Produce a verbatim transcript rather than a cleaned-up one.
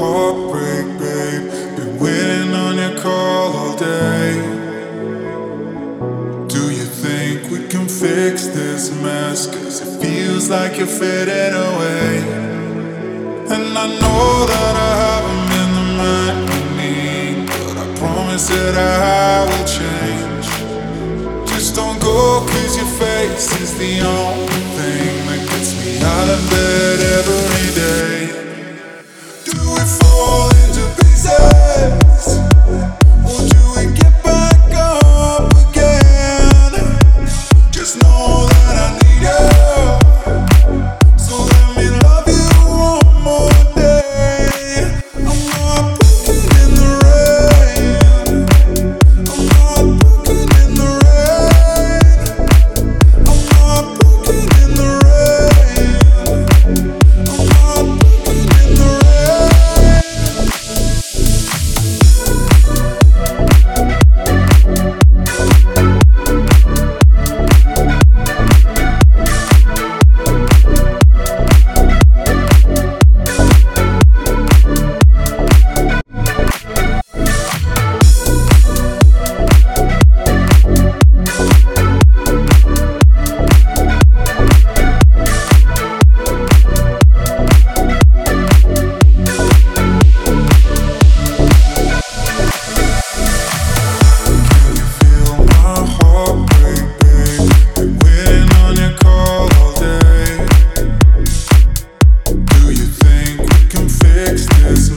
heartbreak, babe. Been waiting on your call all day. Do you think we can fix this mess? Cause it feels like you're fading away. And I know that I haven't been the man you need, but I promise that I will change. Just don't go, cause your face is the only thing that gets me out of bed every day. Do we fall into pieces? Or do we get back up again? Just know that I need you, so let me love you one more day. I'm not broken in the rain. I'm not broken in the rain. I'm not broken in the rain. I'm not broken in the rain. This